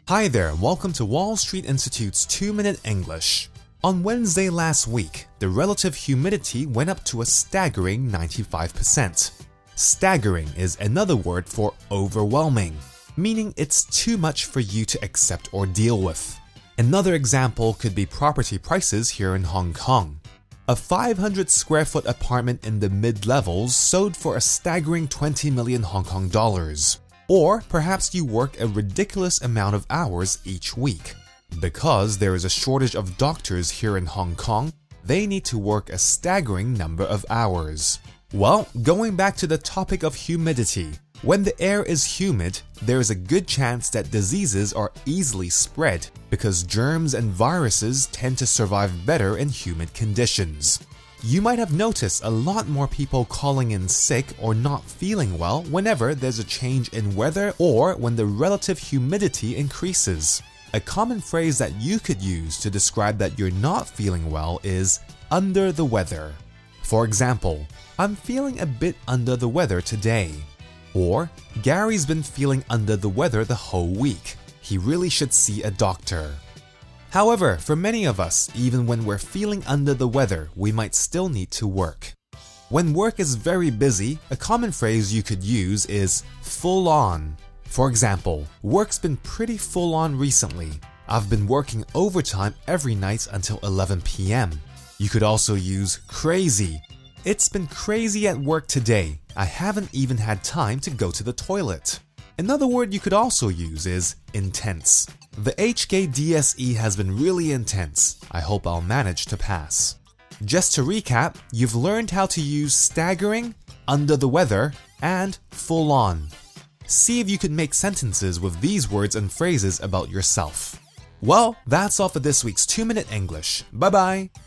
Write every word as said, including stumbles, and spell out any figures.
Hi there, and welcome to Wall Street Institute's two minute English. On Wednesday last week, the relative humidity went up to a staggering ninety-five percent. Staggering is another word for overwhelming, meaning it's too much for you to accept or deal with. Another example could be property prices here in Hong Kong. A five hundred square foot apartment in the mid-levels sold for a staggering twenty million Hong Kong dollars. Or perhaps you work a ridiculous amount of hours each week. Because there is a shortage of doctors here in Hong Kong, they need to work a staggering number of hours. Well, going back to the topic of humidity, when the air is humid, there is a good chance that diseases are easily spread because germs and viruses tend to survive better in humid conditions. You might have noticed a lot more people calling in sick or not feeling well whenever there's a change in weather or when the relative humidity increases. A common phrase that you could use to describe that you're not feeling well is under the weather. For example, I'm feeling a bit under the weather today. Or, Gary's been feeling under the weather the whole week. He really should see a doctor. However, for many of us, even when we're feeling under the weather, we might still need to work. When work is very busy, a common phrase you could use is full on. For example, work's been pretty full on recently. I've been working overtime every night until eleven p m You could also use crazy. It's been crazy at work today. I haven't even had time to go to the toilet. Another word you could also use is intense. The H K D S E has been really intense. I hope I'll manage to pass. Just to recap, you've learned how to use staggering, under the weather, and full on. See if you could make sentences with these words and phrases about yourself. Well, that's all for this week's two minute English. Bye bye!